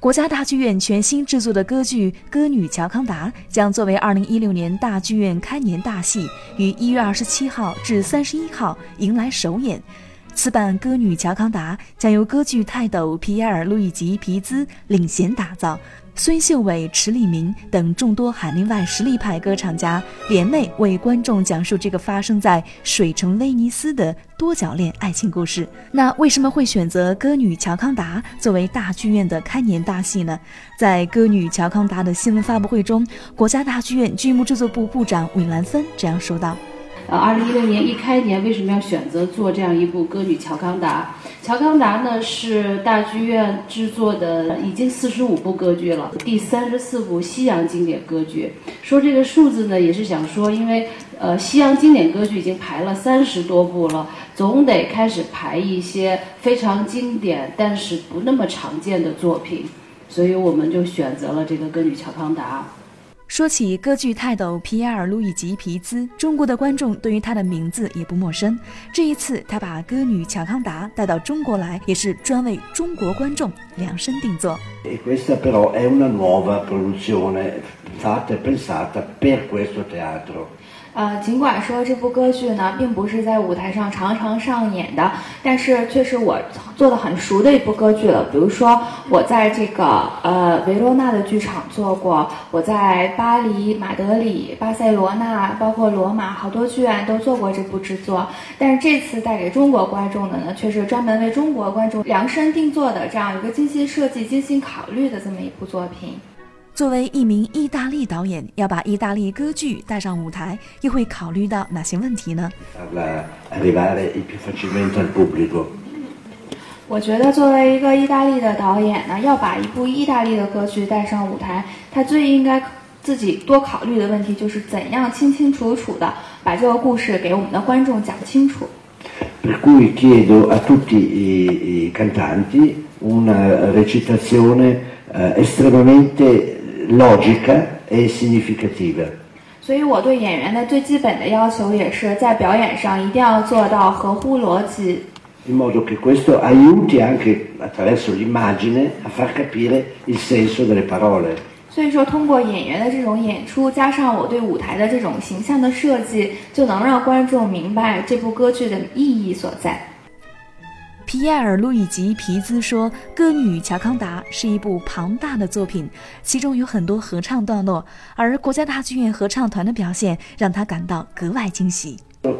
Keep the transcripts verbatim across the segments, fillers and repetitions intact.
国家大剧院全新制作的歌剧《歌女乔康达》将作为二零一六年大剧院开年大戏，于一月二十七号至三十一号迎来首演。此版《歌女乔康达》将由歌剧泰斗皮埃尔·路易吉·皮兹领衔打造，孙秀伟、池立明等众多海内外实力派歌唱家联袂为观众讲述这个发生在水城威尼斯的多角恋爱情故事。那为什么会选择《歌女乔康达》作为大剧院的开年大戏呢？在《歌女乔康达》的新闻发布会中，国家大剧院剧目制作部部长韦兰芬这样说道。 呃，二零一六年一开年为什么要选择做这样一部《歌女乔康达》？乔康达呢是大剧院制作的已经四十五部歌剧了，第三十四部西洋经典歌剧。说这个数字呢，也是想说，因为呃西洋经典歌剧已经排了三十多部了，总得开始排一些非常经典但是不那么常见的作品，所以我们就选择了这个《歌女乔康达》。 说起歌剧泰斗皮埃尔·路易吉·皮兹，中国的观众对于他的名字也不陌生。这一次他把歌女乔康达带到中国来，也是专为中国观众量身定做。 E questa però è una nuova produzione fatta e pensata per questo teatro。 呃，尽管说这部歌剧呢，并不是在舞台上常常上演的，但是却是我做的很熟的一部歌剧了。比如说，我在这个呃维罗纳的剧场做过，我在巴黎、马德里、巴塞罗那，包括罗马，好多剧院都做过这部制作。但是这次带给中国观众的呢，却是专门为中国观众量身定做的这样一个精心设计、精心考虑的这么一部作品。 作为一名意大利导演，要把意大利歌剧带上舞台，又会考虑到哪些问题呢？ 我觉得作为一个意大利的导演呢，要把一部意大利的歌剧带上舞台，他最应该自己多考虑的问题就是怎样清清楚楚的把这个故事给我们的观众讲清楚。 Per cui chiedo a tutti i cantanti una recitazione estremamente logica e significativa。 所以我对演员的最基本的要求也是在表演上一定要做到合乎逻辑。 In modo che questo aiuti anche attraverso l'immagine a far capire il senso delle parole。 所以说，通过演员的这种演出，加上我对舞台的这种形象的设计，就能让观众明白这部歌剧的意义所在。 皮埃尔·路易吉·皮兹说，《歌女乔康达》是一部庞大的作品，其中有很多合唱段落，而国家大剧院合唱团的表现让他感到格外惊喜。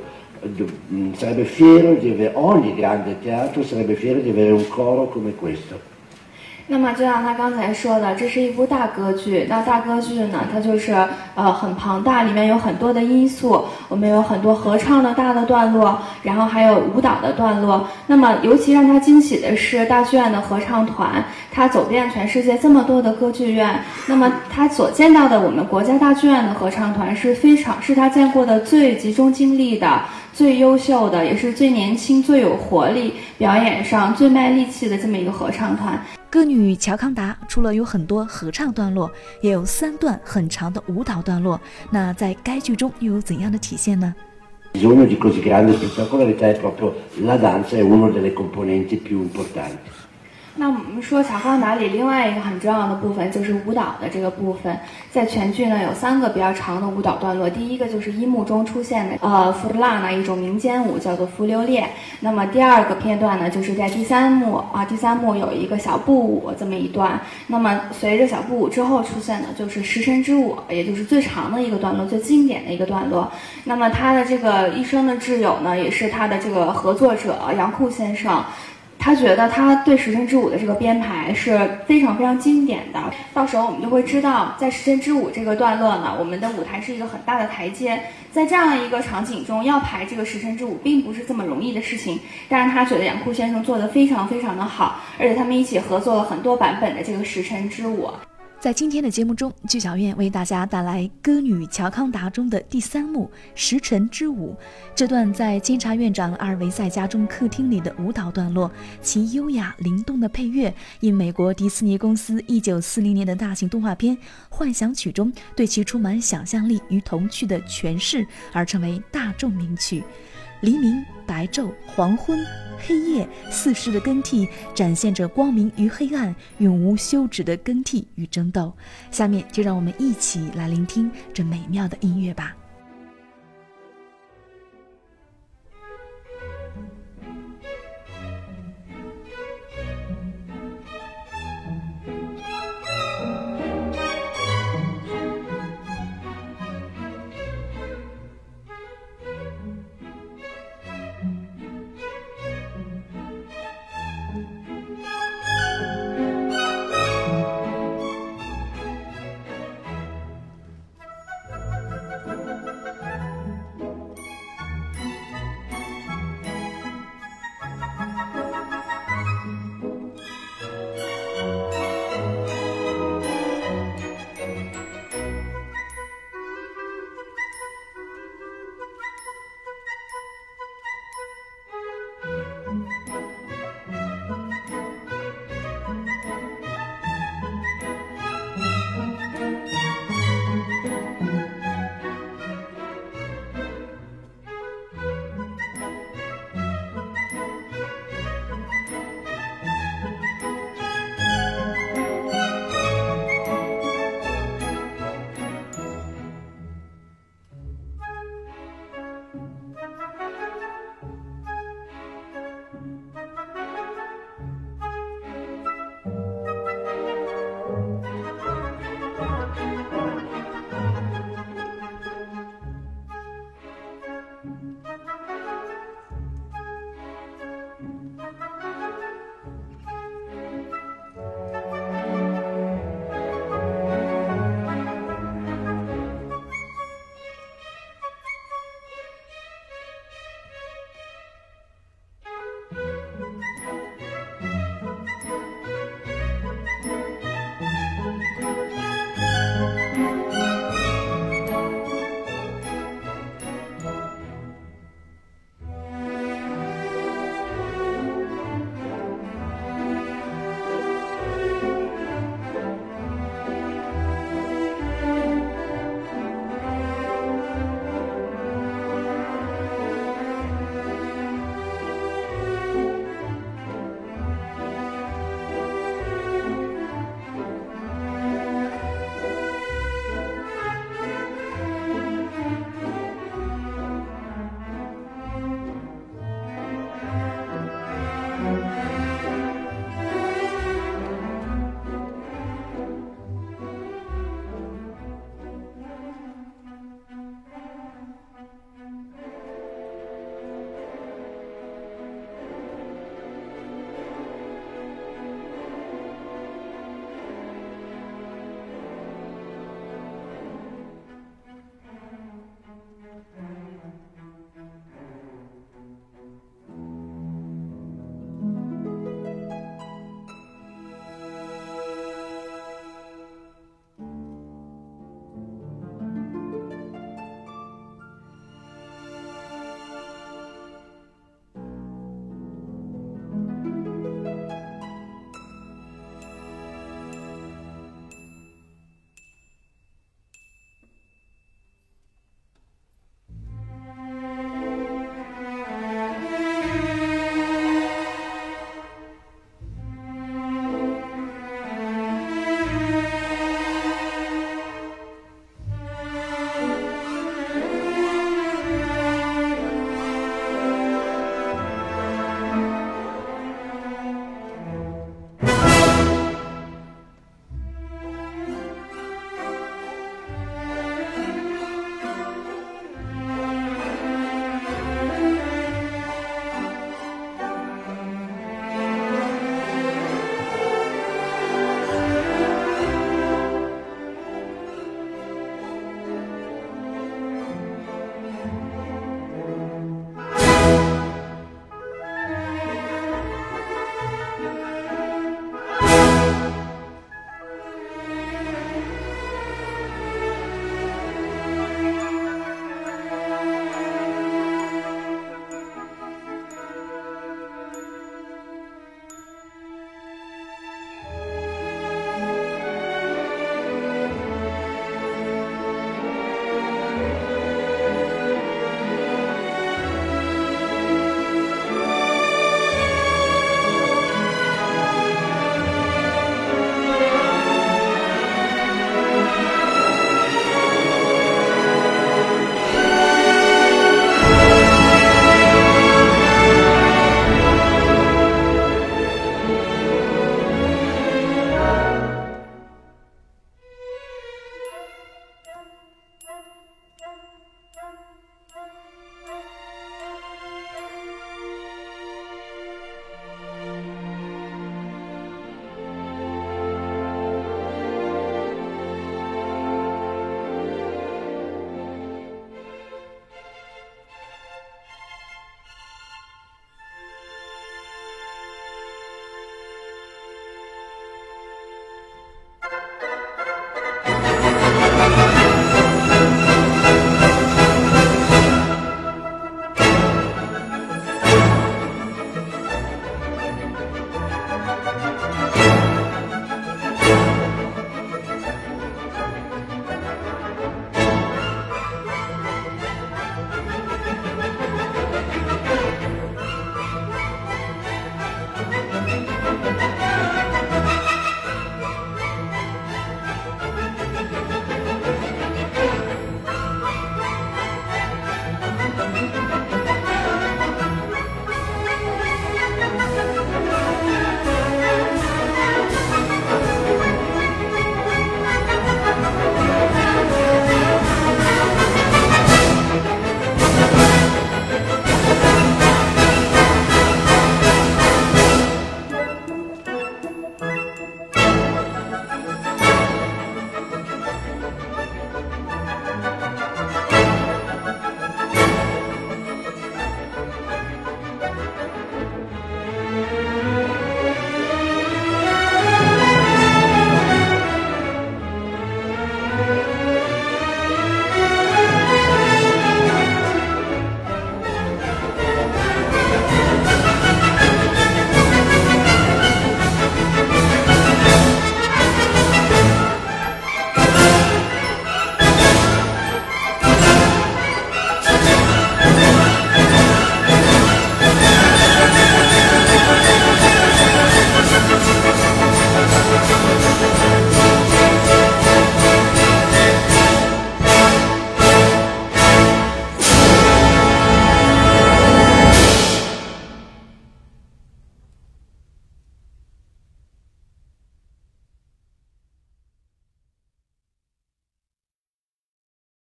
Sarebbe fiero di avere ogni grande teatro sarebbe fiero di avere un coro come questo。 那么就像他刚才说的，这是一部大歌剧。那大歌剧呢，它就是呃很庞大，里面有很多的因素。我们有很多合唱的大的段落，然后还有舞蹈的段落。那么尤其让他惊喜的是，大剧院的合唱团，他走遍全世界这么多的歌剧院，那么他所见到的我们国家大剧院的合唱团是非常是他见过的最集中精力的、最优秀的，也是最年轻、最有活力、表演上最卖力气的这么一个合唱团。 歌女乔康达除了有很多合唱段落，也有三段很长的舞蹈段落。那在该剧中又有怎样的体现呢？ Bisogno di così grande spettacolarità è proprio la danza è una delle componenti più importanti。 那我们说乔康达里另外一个很重要的部分就是舞蹈的这个部分，在全剧呢有三个比较长的舞蹈段落。第一个就是一幕中出现的呃弗拉那一种民间舞，叫做浮流列。那么第二个片段呢，就是在第三幕啊，第三幕有一个小步舞这么一段。那么随着小步舞之后出现的就是时辰之舞，也就是最长的一个段落，最经典的一个段落。那么他的这个一生的挚友呢，也是他的这个合作者杨库先生。他觉得他对时辰之舞的这个编排是非常非常经典的，到时候我们就会知道，在时辰之舞这个段落呢，我们的舞台是一个很大的台阶，在这样一个场景中要排这个时辰之舞并不是这么容易的事情，但是他觉得杨库先生做得非常非常的好，而且他们一起合作了很多版本的这个时辰之舞。 在今天的节目中，剧小院为大家带来《歌女乔康达》中的第三幕《时辰之舞》。这段在监察院长阿尔维塞家中客厅里的舞蹈段落，其优雅灵动的配乐，因美国迪士尼公司一九四零年的大型动画片《幻想曲》中对其充满想象力与童趣的诠释而成为大众名曲。 黎明、白昼、黄昏、黑夜四时的更替，展现着光明与黑暗永无休止的更替与争斗。下面就让我们一起来聆听这美妙的音乐吧。